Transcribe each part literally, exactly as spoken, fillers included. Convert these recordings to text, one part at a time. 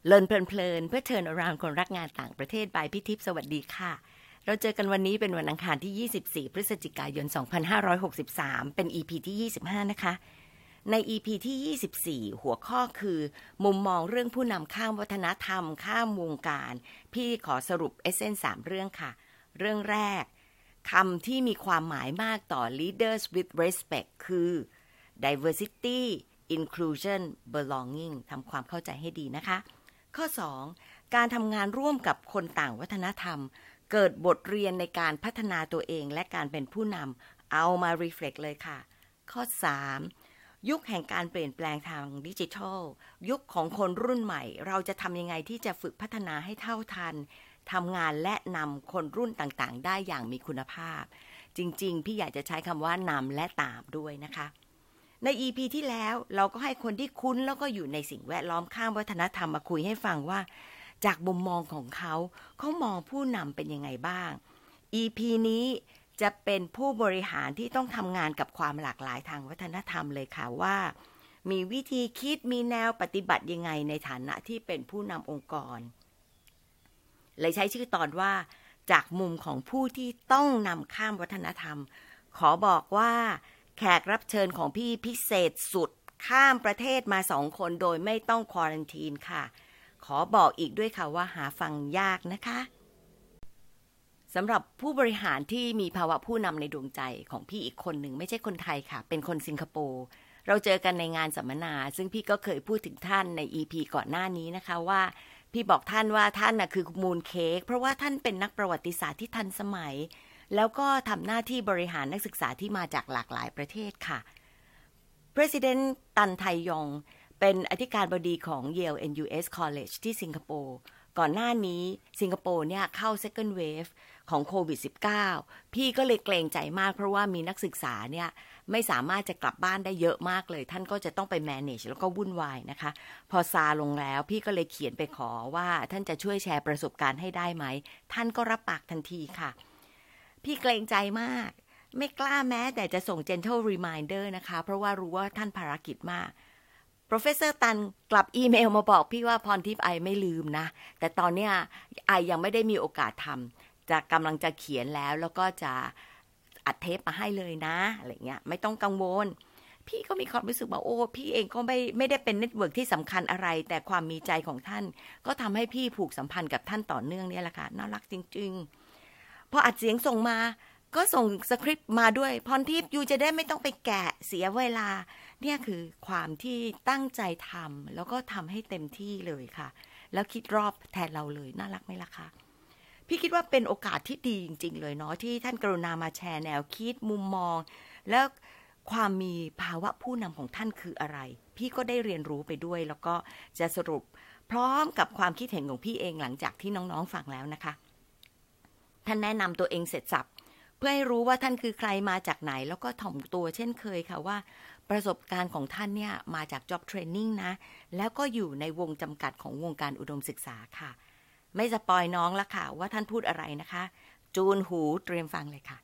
เลินเพลินๆเพื่อ Turn Around คนรักงานต่างประเทศ by พี่ทิพย์สวัสดีค่ะเราเจอกันวันนี้เป็นวันอังคารที่ยี่สิบสี่พฤศจิกายนสองพันห้าร้อยหกสิบสามเป็น อี พี ที่ยี่สิบห้านะคะใน อี พี ที่ยี่สิบสี่หัวข้อคือมุมมองเรื่องผู้นำข้ามวัฒนธรรมข้ามวงการพี่ขอสรุปเอเซนส์สามเรื่องค่ะเรื่องแรกคำที่มีความหมายมากต่อ leaders with respect คือ diversity inclusion belonging ทำความเข้าใจให้ดีนะคะข้อสองการทำงานร่วมกับคนต่างวัฒนธรรมเกิดบทเรียนในการพัฒนาตัวเองและการเป็นผู้นำเอามา reflect เลยค่ะข้อสามยุคแห่งการเปลี่ยนแปลงทางดิจิทัลยุคของคนรุ่นใหม่เราจะทำยังไงที่จะฝึกพัฒนาให้เท่าทันทำงานและนำคนรุ่นต่างๆได้อย่างมีคุณภาพจริงๆพี่อยากจะใช้คำว่านำและตามด้วยนะคะใน อี พี ที่แล้วเราก็ให้คนที่คุ้นแล้วก็อยู่ในสิ่งแวดล้อมข้ามวัฒนธรรมมาคุยให้ฟังว่าจากมุมมองของเขาเขามองผู้นำเป็นยังไงบ้าง อี พี นี้จะเป็นผู้บริหารที่ต้องทำงานกับความหลากหลายทางวัฒนธรรมเลยค่ะว่ามีวิธีคิดมีแนวปฏิบัติยังไงในฐานะที่เป็นผู้นำองค์กรเลยใช้ชื่อตอนว่าจากมุมของผู้ที่ต้องนำข้ามวัฒนธรรมขอบอกว่าแขกรับเชิญของพี่พิเศษสุดข้ามประเทศมาสองคนโดยไม่ต้องควอรันทีนค่ะขอบอกอีกด้วยค่ะว่าหาฟังยากนะคะสำหรับผู้บริหารที่มีภาวะผู้นำในดวงใจของพี่อีกคนหนึ่งไม่ใช่คนไทยค่ะเป็นคนสิงคโปร์เราเจอกันในงานสัมมนาซึ่งพี่ก็เคยพูดถึงท่านใน อี พี ก่อนหน้านี้นะคะว่าพี่บอกท่านว่าท่านน่ะคือมูนเค้กเพราะว่าท่านเป็นนักประวัติศาสตร์ที่ทันสมัยแล้วก็ทำหน้าที่บริหารนักศึกษาที่มาจากหลากหลายประเทศค่ะ President ตันไทยองเป็นอธิการบดีของ Yale เอ็น ยู เอส College ที่สิงคโปร์ก่อนหน้านี้สิงคโปร์เนี่ยเข้า second wave ของโควิด สิบเก้า พี่ก็เลยเกรงใจมากเพราะว่ามีนักศึกษาเนี่ยไม่สามารถจะกลับบ้านได้เยอะมากเลยท่านก็จะต้องไป manage แล้วก็วุ่นวายนะคะพอซาลงแล้วพี่ก็เลยเขียนไปขอว่าท่านจะช่วยแชร์ประสบการณ์ให้ได้ไหมท่านก็รับปากทันทีค่ะพี่เกรงใจมากไม่กล้าแม้แต่จะส่ง gentle reminder นะคะเพราะว่ารู้ว่าท่านภารกิจมาก Professor ตันกลับอีเมลมาบอกพี่ว่าพรทิพย์ไอไม่ลืมนะแต่ตอนเนี้ยไอยังไม่ได้มีโอกาสทำจะกำลังจะเขียนแล้วแล้วก็จะอัดเทปมาให้เลยนะอะไรเงี้ยไม่ต้องกังวลพี่ก็มีความรู้สึกว่าโอ้พี่เองก็ไม่ไม่ได้เป็นเน็ตเวิร์กที่สำคัญอะไรแต่ความมีใจของท่านก็ทำให้พี่ผูกสัมพันธ์กับท่านต่อเนื่องเนี่ยแหละค่ะน่ารักจริงๆพออัดเสียงส่งมาก็ส่งสคริปต์มาด้วยพรทิพย์ยูจะได้ไม่ต้องไปแกะเสียเวลาเนี่ยคือความที่ตั้งใจทำแล้วก็ทำให้เต็มที่เลยค่ะแล้วคิดรอบแทนเราเลยน่ารักไหมล่ะคะพี่คิดว่าเป็นโอกาสที่ดีจริงๆเลยเนาะที่ท่านกรุณามาแชร์แนวคิดมุมมองแล้วความมีภาวะผู้นำของท่านคืออะไรพี่ก็ได้เรียนรู้ไปด้วยแล้วก็จะสรุปพร้อมกับความคิดเห็นของพี่เองหลังจากที่น้องๆฟังแล้วนะคะท่านแนะนำตัวเองเสร็จสับเพื่อให้รู้ว่าท่านคือใครมาจากไหนแล้วก็ถ่อมตัวเช่นเคยค่ะว่าประสบการณ์ของท่านเนี่ยมาจาก job training นะแล้วก็อยู่ในวงจำกัดของวงการอุดมศึกษาค่ะไม่สปอยน้องละค่ะว่าท่านพูดอะไรนะคะจูนหูเตรียมฟังเลยค่ะ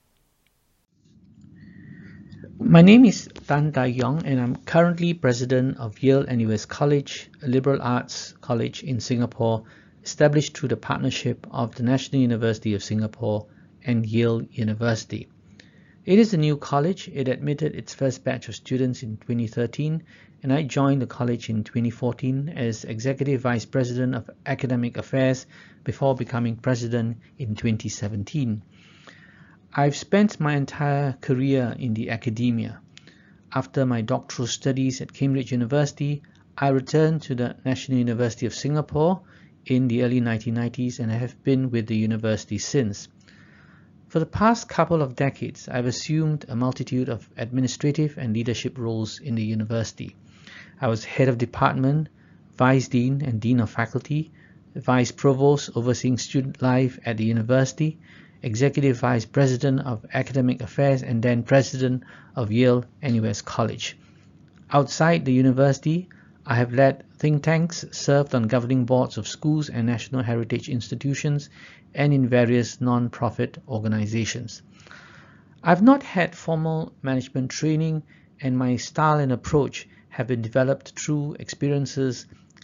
My name is Tan Tae-yong and I'm currently president of Yale เอ็น ยู เอส College, a liberal arts college in Singapore, established through the partnership of the National University of Singapore and Yale University. It is a new college. It admitted its first batch of students in twenty thirteen, and I joined the college in twenty fourteen as Executive Vice President of Academic Affairs before becoming President in twenty seventeen. I've spent my entire career in the academia. After my doctoral studies at Cambridge University, I returned to the National University of Singapore in the early nineteen nineties and have been with the university since.For the past couple of decades, I've assumed a multitude of administrative and leadership roles in the university. I was head of department, vice dean and dean of faculty, vice provost overseeing student life at the university, executive vice president of academic affairs, and then president of Yale เอ็น ยู เอส College. Outside the university, I have led think tanks, served on governing boards of schools and national heritage institutions, and in various non-profit organizations. I've not had formal management training, and my style and approach have been developed through experiences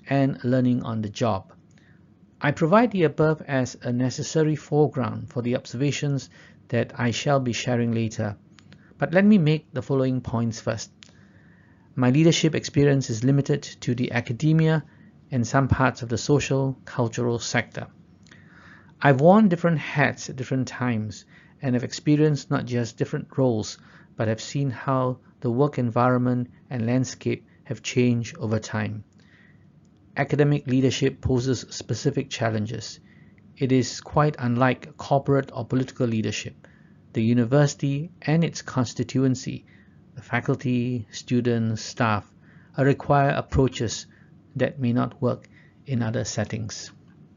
and learning on the job. I provide the above as a necessary foreground for the observations that I shall be sharing later. But let me make the following points first. My leadership experience is limited to the academia and some parts of the social, cultural sector. I've worn different hats at different times and have experienced not just different roles, but have seen how the work environment and landscape have changed over time. Academic leadership poses specific challenges. It is quite unlike corporate or political leadership. The university and its constituency, the faculty, students, staff, require approaches that may not work in other settings.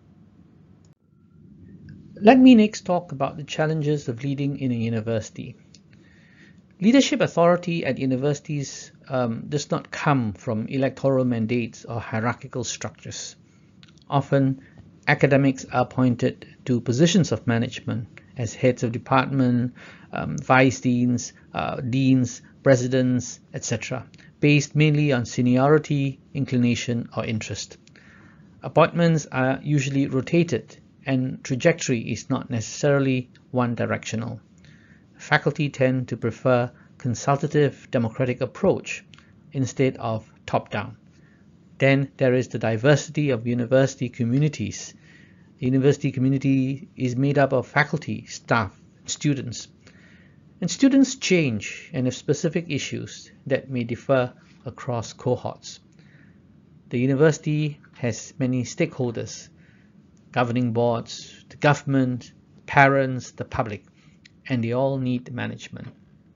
Let me next talk about the challenges of leading in a university. Leadership authority at universities um, does not come from electoral mandates or hierarchical structures. Often, academics are appointed to positions of management as heads of department, um, vice deans, uh, deans, presidents, et cetera, based mainly on seniority, inclination, or interest. Appointments are usually rotated, and trajectory is not necessarily one-directional. Faculty tend to prefer consultative democratic approach instead of top-down. Then there is the diversity of university communities. The university community is made up of faculty, staff, students. And students change and have specific issues that may differ across cohorts. The university has many stakeholders: governing boards, the government, parents, the public, and they all need management.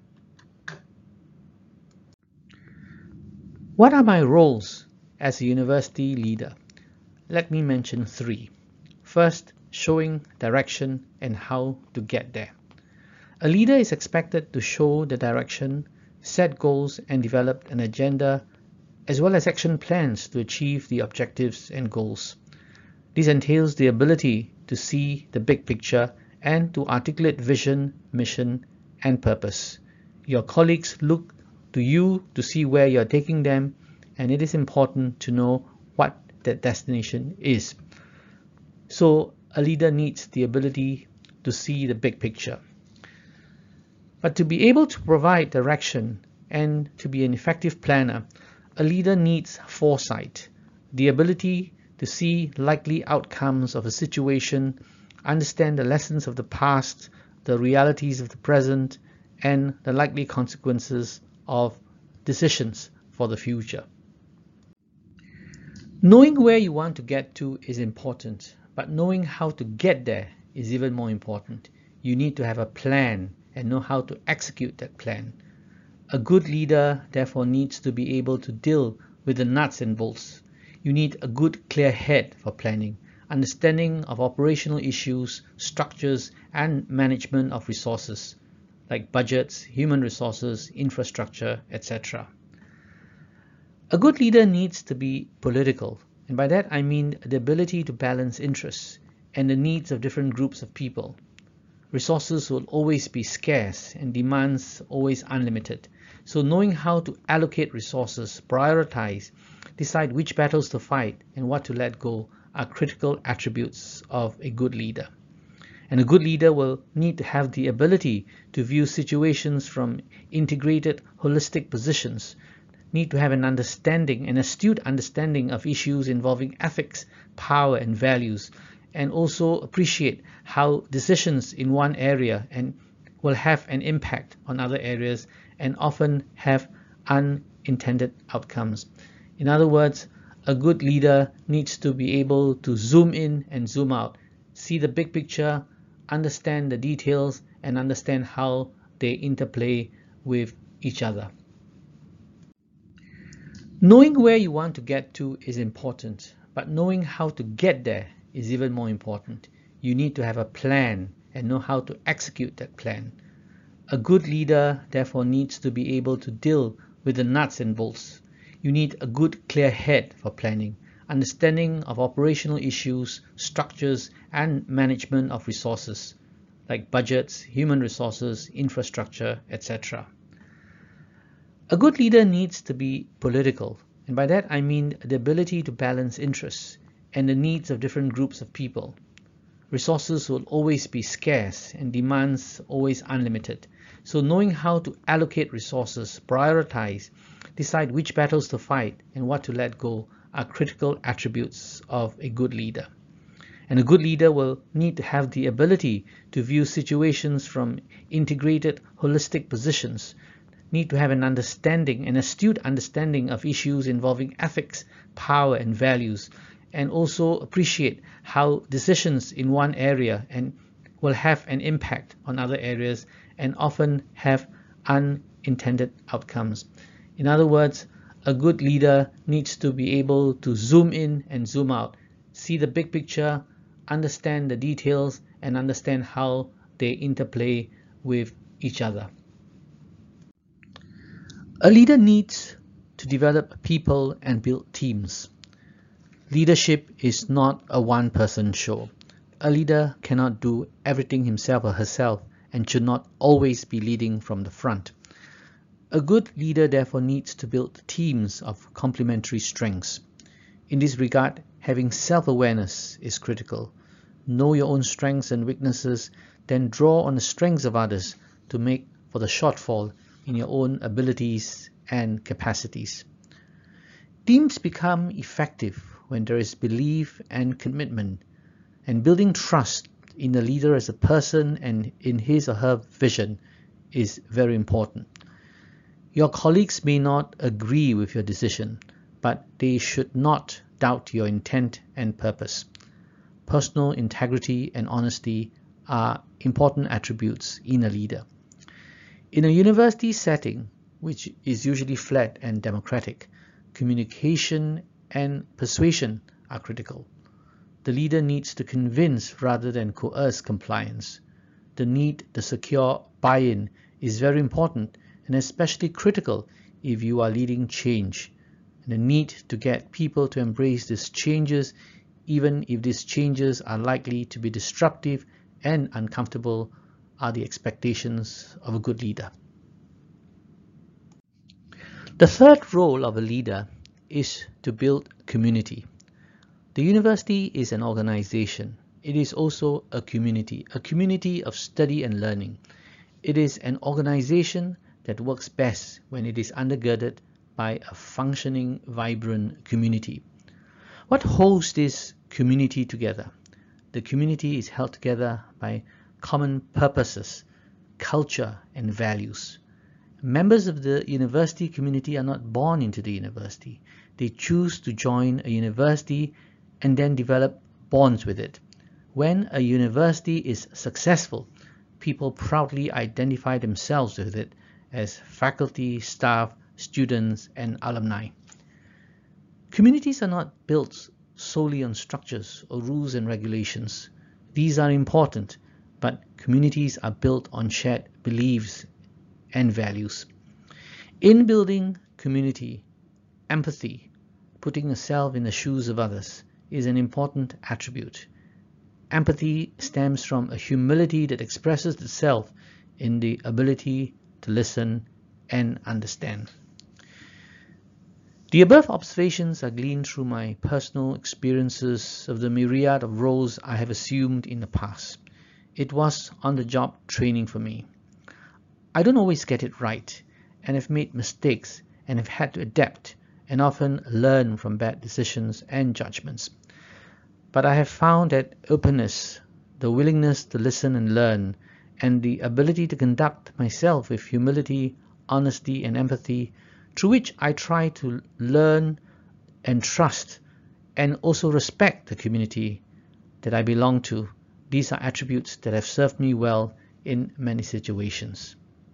What are my roles as a university leader? Let me mention three. First, showing direction and how to get there. A leader is expected to show the direction, set goals, and develop an agenda, as well as action plans to achieve the objectives and goals. This entails the ability to see the big picture and to articulate vision, mission, and purpose. Your colleagues look to you to see where you're taking them, and it is important to know what that destination is. So a leader needs the ability to see the big picture. But to be able to provide direction and to be an effective planner, a leader needs foresight, the ability to see likely outcomes of a situation, understand the lessons of the past, the realities of the present, and the likely consequences of decisions for the future. Knowing where you want to get to is important, but knowing how to get there is even more important. You need to have a plan and know how to execute that plan. A good leader, therefore, needs to be able to deal with the nuts and bolts. You need a good, clear head for planning, understanding of operational issues, structures, and management of resources, like budgets, human resources, infrastructure, et cetera. A good leader needs to be political, and by that I mean the ability to balance interests and the needs of different groups of people. Resources will always be scarce and demands always unlimited. So knowing how to allocate resources, prioritize, decide which battles to fight and what to let go are critical attributes of a good leader. And a good leader will need to have the ability to view situations from integrated, holistic positions, need to have an understanding, an astute understanding of issues involving ethics, power, and values, and also appreciate how decisions in one area and will have an impact on other areas and often have unintended outcomes. In other words, a good leader needs to be able to zoom in and zoom out, see the big picture, understand the details, and understand how they interplay with each other. Knowing where you want to get to is important, but knowing how to get there is even more important. You need to have a plan and know how to execute that plan. A good leader, therefore, needs to be able to deal with the nuts and bolts. You need a good, clear head for planning, understanding of operational issues, structures, and management of resources, like budgets, human resources, infrastructure, et cetera. A good leader needs to be political, And by that I mean the ability to balance interests and the needs of different groups of people. Resources will always be scarce and demands always unlimited. So knowing how to allocate resources, prioritize, decide which battles to fight and what to let go are critical attributes of a good leader. And a good leader will need to have the ability to view situations from integrated, holistic positions, need to have an understanding, an astute understanding of issues involving ethics, power and values, and also appreciate how decisions in one area and will have an impact on other areas and often have unintended outcomes. In other words, a good leader needs to be able to zoom in and zoom out, see the big picture, understand the details, and understand how they interplay with each other. A leader needs to develop people and build teams. Leadership is not a one-person show. A leader cannot do everything himself or herself and should not always be leading from the front. A good leader therefore needs to build teams of complementary strengths. In this regard, having self-awareness is critical. Know your own strengths and weaknesses, then draw on the strengths of others to make for the shortfall in your own abilities and capacities. Teams become effective when there is belief and commitment, and building trust in the leader as a person and in his or her vision is very important. Your colleagues may not agree with your decision, but they should not doubt your intent and purpose. Personal integrity and honesty are important attributes in a leader. In a university setting, which is usually flat and democratic, communication and persuasion are critical. The leader needs to convince rather than coerce compliance. The need to secure buy-in is very important and especially critical if you are leading change. And the need to get people to embrace these changes, even if these changes are likely to be disruptive and uncomfortable, are the expectations of a good leader. The third role of a leader is to build community. The university is an organization. It is also a community, a community of study and learning. It is an organization that works best when it is undergirded by a functioning, vibrant community. What holds this community together? The community is held together by common purposes, culture, and values. Members of the university community are not born into the university. They choose to join a university and then develop bonds with it. When a university is successful, people proudly identify themselves with it as faculty, staff, students, and alumni. Communities are not built solely on structures or rules and regulations. These are important, but communities are built on shared beliefs and values. In building community, empathy, putting yourself in the shoes of others, is an important attribute. Empathy stems from a humility that expresses itself in the ability to listen and understand. The above observations are gleaned through my personal experiences of the myriad of roles I have assumed in the past. It was on-the-job training for me. I don't always get it right, and have made mistakes and have had to adapt and often learn from bad decisions and judgments. But I have found that openness, the willingness to listen and learn, and the ability to conduct myself with humility, honesty, and empathy, through which I try to learn and trust and also respect the community that I belong to. These are attributes that have served me well in many situations.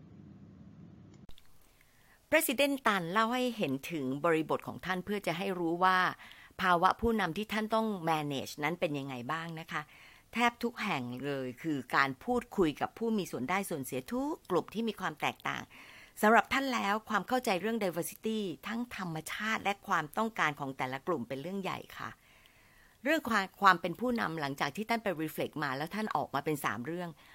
President ตันเล่าให้เห็นถึงบริบทของท่านเพื่อจะให้รู้ว่าภาวะผู้นำที่ท่านต้อง manage นั้นเป็นยังไงบ้างนะคะแทบทุกแห่งเลยคือการพูดคุยกับผู้มีส่วนได้ส่วนเสียทุกกลุ่มที่มีความแตกต่างสำหรับท่านแล้วความเข้าใจเรื่อง diversity ทั้งธรรมชาติและความต้องการของแต่ละกลุ่มเป็นเรื่องใหญ่ค่ะเรื่องความความเป็นผู้นำหลังจากที่ท่านไป reflect มาแล้วท่านออกมาเป็นสามเรื่อง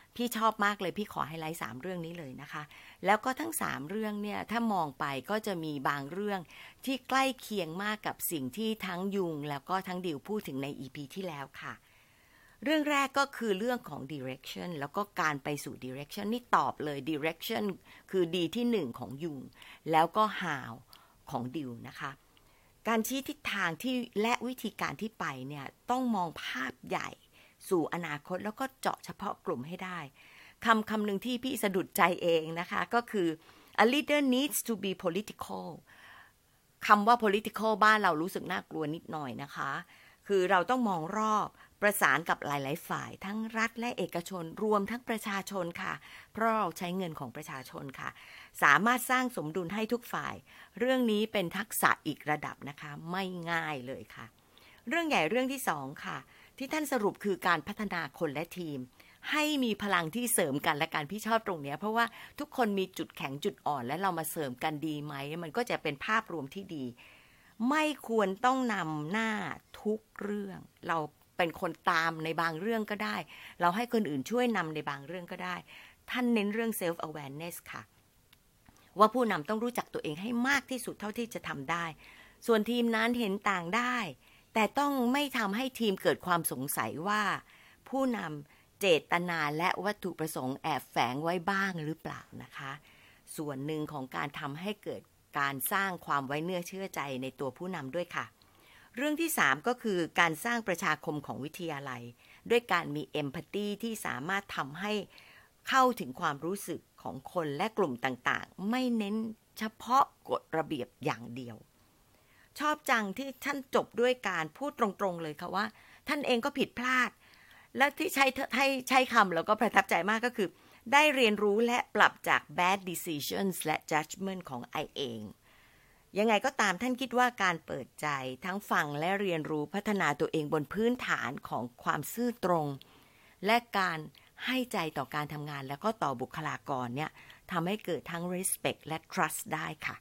พี่ชอบมากเลยพี่ขอไฮไลท์สามเรื่องนี้เลยนะคะแล้วก็ทั้งสามเรื่องเนี่ยถ้ามองไปก็จะมีบางเรื่องที่ใกล้เคียงมากกับสิ่งที่ทั้งยุงแล้วก็ทั้งดิวพูดถึงใน อี พี ที่แล้วค่ะเรื่องแรกก็คือเรื่องของ direction แล้วก็การไปสู่ direction นี่ตอบเลย direction คือดีที่หนึ่งของยุงแล้วก็ how ของดิวนะคะการชี้ทิศทางที่และวิธีการที่ไปเนี่ยต้องมองภาพใหญ่สู่อนาคตแล้วก็เจาะเฉพาะกลุ่มให้ได้คำคำหนึ่งที่พี่สะดุดใจเองนะคะก็คือ a leader needs to be political คำว่า political บ้านเรารู้สึกน่ากลัวนิดหน่อยนะคะคือเราต้องมองรอบประสานกับหลายๆฝ่ายทั้งรัฐและเอกชนรวมทั้งประชาชนค่ะเพราะเราใช้เงินของประชาชนค่ะสามารถสร้างสมดุลให้ทุกฝ่ายเรื่องนี้เป็นทักษะอีกระดับนะคะไม่ง่ายเลยค่ะเรื่องใหญ่เรื่องที่สองค่ะที่ท่านสรุปคือการพัฒนาคนและทีมให้มีพลังที่เสริมกันและการพี่ชอบตรงนี้เพราะว่าทุกคนมีจุดแข็งจุดอ่อนและเรามาเสริมกันดีไหมมันก็จะเป็นภาพรวมที่ดีไม่ควรต้องนำหน้าทุกเรื่องเราเป็นคนตามในบางเรื่องก็ได้เราให้คนอื่นช่วยนำในบางเรื่องก็ได้ท่านเน้นเรื่อง self awareness ค่ะว่าผู้นำต้องรู้จักตัวเองให้มากที่สุดเท่าที่จะทำได้ส่วนทีมนั้นเห็นต่างได้แต่ต้องไม่ทำให้ทีมเกิดความสงสัยว่าผู้นำเจตนาและวัตถุประสงค์แอบแฝงไว้บ้างหรือเปล่านะคะส่วนหนึ่งของการทำให้เกิดการสร้างความไว้เนื้อเชื่อใจในตัวผู้นำด้วยค่ะเรื่องที่สามก็คือการสร้างประชาคมของวิทยาลัยด้วยการมีเอมพัตตีที่สามารถทำให้เข้าถึงความรู้สึกของคนและกลุ่มต่างๆไม่เน้นเฉพาะกฎระเบียบอย่างเดียวชอบจังที่ท่านจบด้วยการพูดตรงๆเลยค่ะว่าท่านเองก็ผิดพลาดและที่ใช้ให้ใช้คำแล้วก็ประทับใจมากก็คือได้เรียนรู้และปรับจาก bad decisions และ judgment ของไอเองยังไงก็ตามท่านคิดว่าการเปิดใจทั้งฟังและเรียนรู้พัฒนาตัวเองบนพื้นฐานของความซื่อตรงและการให้ใจต่อการทำงานแล้วก็ต่อบุคลากรเนี่ยทำให้เกิดทั้ง respect และ trust ได้ค่ะ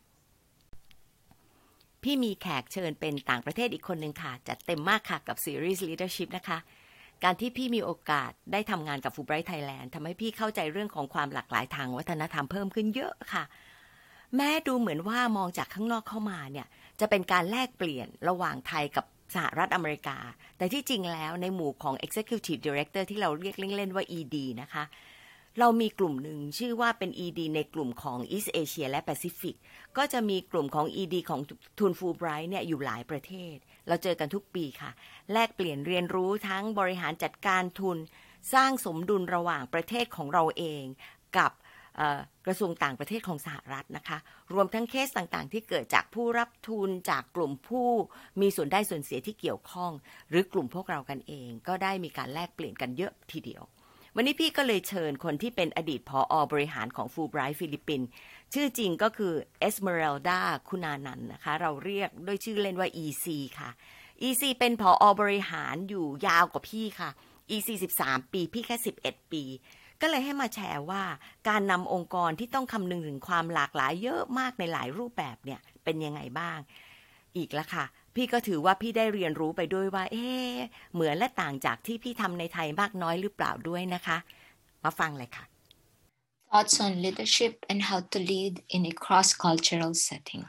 พี่มีแขกเชิญเป็นต่างประเทศอีกคนนึงค่ะจัดเต็มมากค่ะกับซีรีส์ Leadership นะคะการที่พี่มีโอกาสได้ทำงานกับ Fulbright Thailand ทำให้พี่เข้าใจเรื่องของความหลากหลายทางวัฒนธรรมเพิ่มขึ้นเยอะค่ะแม้ดูเหมือนว่ามองจากข้างนอกเข้ามาเนี่ยจะเป็นการแลกเปลี่ยนระหว่างไทยกับสหรัฐอเมริกาแต่ที่จริงแล้วในหมู่ของ Executive Director ที่เราเรียกเล่นๆว่า อี ดี นะคะเรามีกลุ่มหนึ่งชื่อว่าเป็น อี ดี ในกลุ่มของ East Asia และ Pacific ก็จะมีกลุ่มของ อี ดี ของทุน Fulbright เนี่ยอยู่หลายประเทศเราเจอกันทุกปีค่ะแลกเปลี่ยนเรียนรู้ทั้งบริหารจัดการทุนสร้างสมดุลระหว่างประเทศของเราเองกับกระทรวงต่างประเทศของสหรัฐนะคะรวมทั้งเคสต่างๆที่เกิดจากผู้รับทุนจากกลุ่มผู้มีส่วนได้ส่วนเสียที่เกี่ยวข้องหรือกลุ่มพวกเรากันเองก็ได้มีการแลกเปลี่ยนกันเยอะทีเดียววันนี้พี่ก็เลยเชิญคนที่เป็นอดีตผอ.บริหารของ Fulbright ฟิลิปปินส์ชื่อจริงก็คือ Esmeralda คุณานันท์นะคะเราเรียกด้วยชื่อเล่นว่า อี ซี ค่ะ อี ซี เป็นผอ.บริหารอยู่ยาวกว่าพี่ค่ะ อี ซี สิบสามปีพี่แค่สิบเอ็ดปีก็เลยให้มาแชร์ว่าการนำองค์กรที่ต้องคำนึงถึงความหลากหลายเยอะมากในหลายรูปแบบเนี่ยเป็นยังไงบ้างอีกละค่ะพี่ก็ถือว่าพี่ได้เรียนรู้ไปด้วยว่าเอ๊ะเหมือนและต่างจากที่พี่ทำในไทยมากน้อยหรือเปล่าด้วยนะคะมาฟังเลยค่ะ Thoughts on leadership and how to lead in a cross-cultural setting.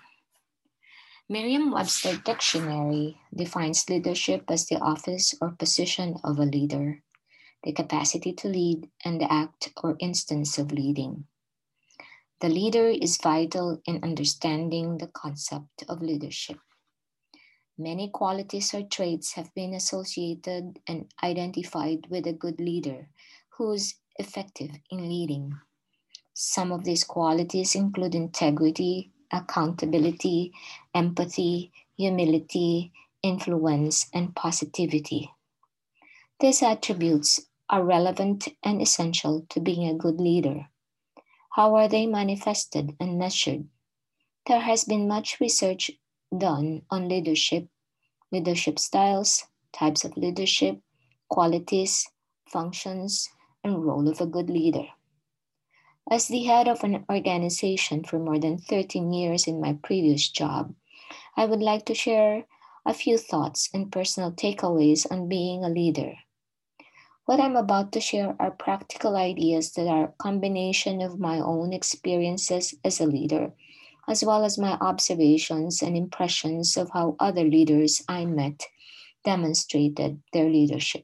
Merriam-Webster Dictionary defines leadership as the office or position of a leader.The capacity to lead and the act or instance of leading. The leader is vital in understanding the concept of leadership. Many qualities or traits have been associated and identified with a good leader who is effective in leading. Some of these qualities include integrity, accountability, empathy, humility, influence, and positivity. These attributes.are relevant and essential to being a good leader. How are they manifested and measured? There has been much research done on leadership, leadership styles, types of leadership, qualities, functions, and role of a good leader. As the head of an organization for more than thirteen years in my previous job, I would like to share a few thoughts and personal takeaways on being a leader. What I'm about to share are practical ideas that are a combination of my own experiences as a leader, as well as my observations and impressions of how other leaders I met demonstrated their leadership.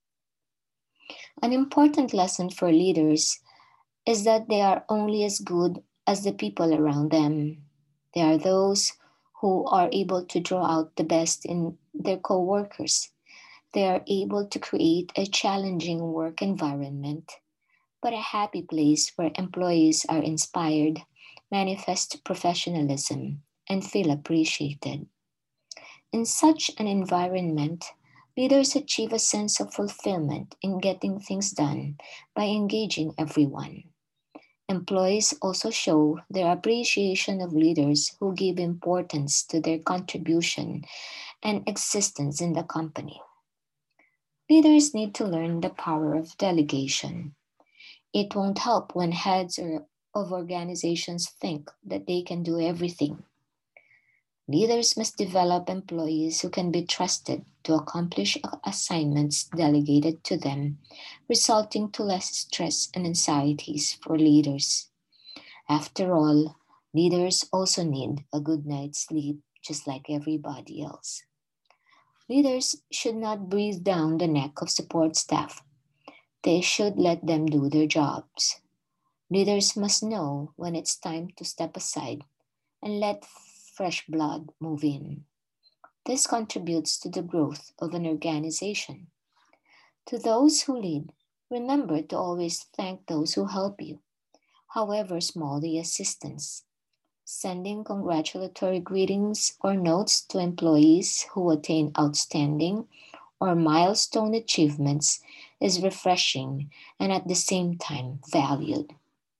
An important lesson for leaders is that they are only as good as the people around them. They are those who are able to draw out the best in their co-workers. They are able to create a challenging work environment, but a happy place where employees are inspired, manifest professionalism, and feel appreciated. In such an environment, leaders achieve a sense of fulfillment in getting things done by engaging everyone. Employees also show their appreciation of leaders who give importance to their contribution and existence in the company. Leaders need to learn the power of delegation. It won't help when heads of organizations think that they can do everything. Leaders must develop employees who can be trusted to accomplish assignments delegated to them, resulting to less stress and anxieties for leaders. After all, leaders also need a good night's sleep, just like everybody else. Leaders should not breathe down the neck of support staff. They should let them do their jobs. Leaders must know when it's time to step aside and let fresh blood move in. This contributes to the growth of an organization. To those who lead, remember to always thank those who help you, however small the assistance. Sending congratulatory greetings or notes to employees who attain outstanding or milestone achievements is refreshing and at the same time valued.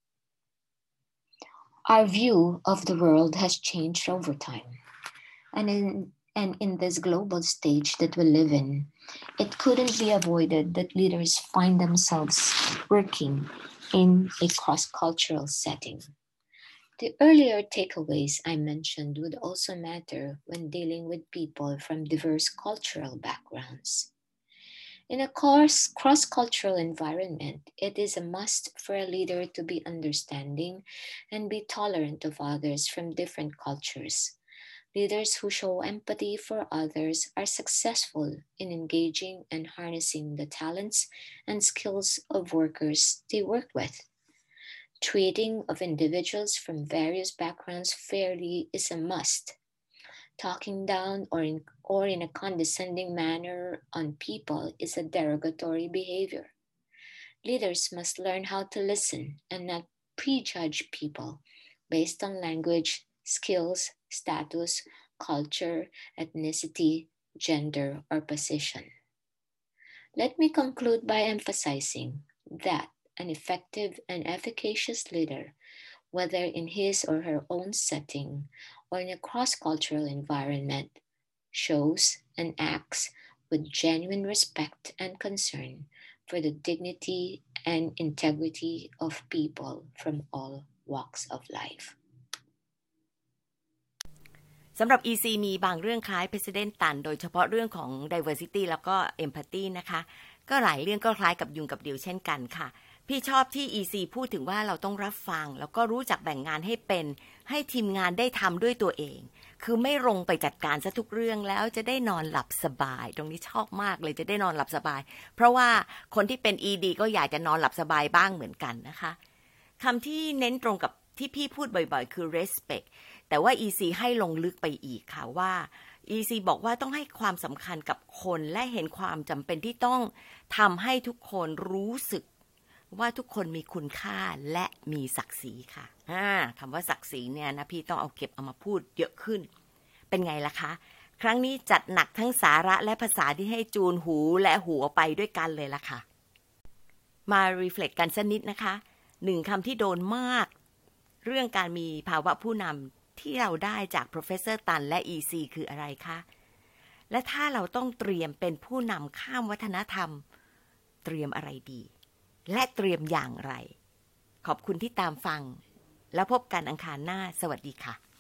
Our view of the world has changed over time, and in, and in this global stage that we live in, it couldn't be avoided that leaders find themselves working in a cross-cultural setting. The earlier takeaways I mentioned would also matter when dealing with people from diverse cultural backgrounds. In a cross-cultural environment, it is a must for a leader to be understanding and be tolerant of others from different cultures. Leaders who show empathy for others are successful in engaging and harnessing the talents and skills of workers they work with. Treating of individuals from various backgrounds fairly is a must. Talking down or in, or in a condescending manner on people is a derogatory behavior. Leaders must learn how to listen and not prejudge people based on language, skills, status, culture, ethnicity, gender, or position. Let me conclude by emphasizing that an effective and efficacious leader, whether in his or her own setting or in a cross-cultural environment, shows and acts with genuine respect and concern for the dignity and integrity of people from all walks of life. สำหรับ อี ซี มีบางเรื่องคล้าย President ตันโดยเฉพาะเรื่องของ diversity แล้วก็ empathy นะคะก็หลายเรื่องก็คล้ายกับยุงกับเดี่ยวเช่นกันค่ะพี่ชอบที่ อี ซี พูดถึงว่าเราต้องรับฟังแล้วก็รู้จักแบ่งงานให้เป็นให้ทีมงานได้ทำด้วยตัวเองคือไม่ลงไปจัดการซะทุกเรื่องแล้วจะได้นอนหลับสบายตรงนี้ชอบมากเลยจะได้นอนหลับสบายเพราะว่าคนที่เป็น อี ดี ก็อยากจะนอนหลับสบายบ้างเหมือนกันนะคะคำที่เน้นตรงกับที่พี่พูดบ่อยๆคือ respect แต่ว่า อี ซี ให้ลงลึกไปอีกค่ะว่า อี ซี บอกว่าต้องให้ความสำคัญกับคนและเห็นความจำเป็นที่ต้องทำให้ทุกคนรู้สึกว่าทุกคนมีคุณค่าและมีศักดิ์ศรีค่ะอ่าคำว่าศักดิ์ศรีเนี่ยนะพี่ต้องเอาเก็บเอามาพูดเยอะขึ้นเป็นไงล่ะคะครั้งนี้จัดหนักทั้งสาระและภาษาที่ให้จูนหูและหัวไปด้วยกันเลยล่ะค่ะมารีเฟล็กกันสักนิดนะคะหนึ่งคำที่โดนมากเรื่องการมีภาวะผู้นำที่เราได้จาก Professor ตันและ อี ซี คืออะไรคะและถ้าเราต้องเตรียมเป็นผู้นำข้ามวัฒนธรรมเตรียมอะไรดีและเตรียมอย่างไรขอบคุณที่ตามฟังแล้วพบกันอังคารหน้าสวัสดีค่ะ